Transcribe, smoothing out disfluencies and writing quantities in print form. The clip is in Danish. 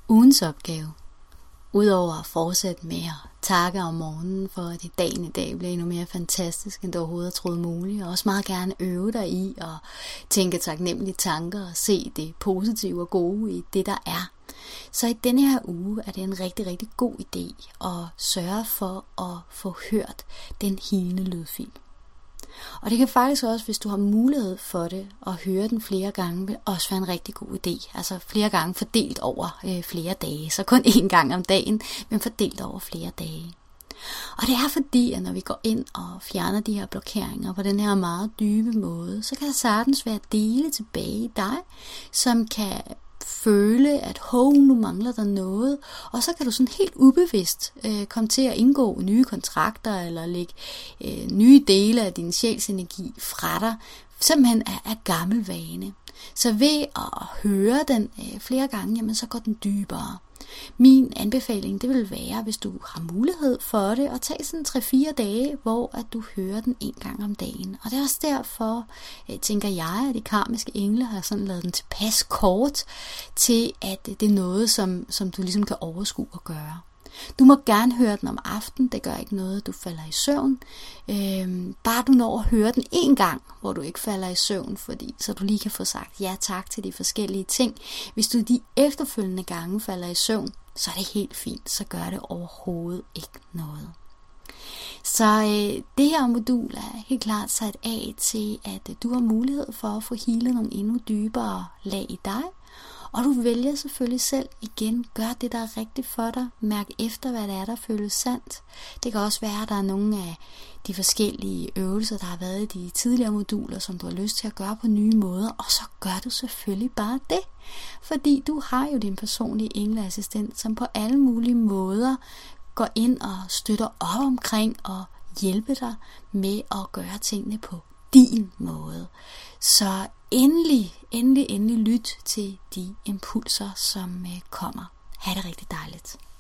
Ugens opgave, udover at fortsætte med at takke om morgenen for, at dagen i dag bliver endnu mere fantastisk, end du overhovedet troede muligt, og også meget gerne øve dig i at tænke taknemmelige tanker og se det positive og gode i det, der er. Så i denne her uge er det en rigtig, rigtig god idé at sørge for at få hørt den helende lydfil. Og det kan faktisk også, hvis du har mulighed for det, at høre den flere gange, vil også være en rigtig god idé. Altså flere gange fordelt over flere dage. Så kun én gang om dagen, men fordelt over flere dage. Og det er fordi, at når vi går ind og fjerner de her blokeringer på den her meget dybe måde, så kan der sagtens være dele tilbage i dig, som kan føle, at nu mangler der noget, og så kan du sådan helt ubevidst komme til at indgå nye kontrakter, eller lægge nye dele af din sjælsenergi fra dig, simpelthen af gammel vane. Så ved at høre den flere gange, jamen så går den dybere. Min anbefaling, det vil være, hvis du har mulighed for det, at tage sådan 3-4 dage, hvor at du hører den en gang om dagen. Og det er også derfor, tænker jeg, at de karmiske engle har sådan lavet den tilpas kort, til at det er noget, som du ligesom kan overskue og gøre. Du må gerne høre den om aftenen, det gør ikke noget, du falder i søvn. Bare du når at høre den en gang, hvor du ikke falder i søvn, så du lige kan få sagt ja tak til de forskellige ting. Hvis du de efterfølgende gange falder i søvn, så er det helt fint, så gør det overhovedet ikke noget. Så det her modul er helt klart sat af til, at du har mulighed for at få healet nogle endnu dybere lag i dig. Og du vælger selvfølgelig selv igen, gør det, der er rigtigt for dig. Mærk efter, hvad det er, der føles sandt. Det kan også være, at der er nogle af de forskellige øvelser, der har været i de tidligere moduler, som du har lyst til at gøre på nye måder. Og så gør du selvfølgelig bare det. Fordi du har jo din personlige engleassistent, som på alle mulige måder går ind og støtter op omkring og hjælper dig med at gøre tingene på din måde. Så endelig lyt til de impulser, som kommer. Ha' det rigtig dejligt.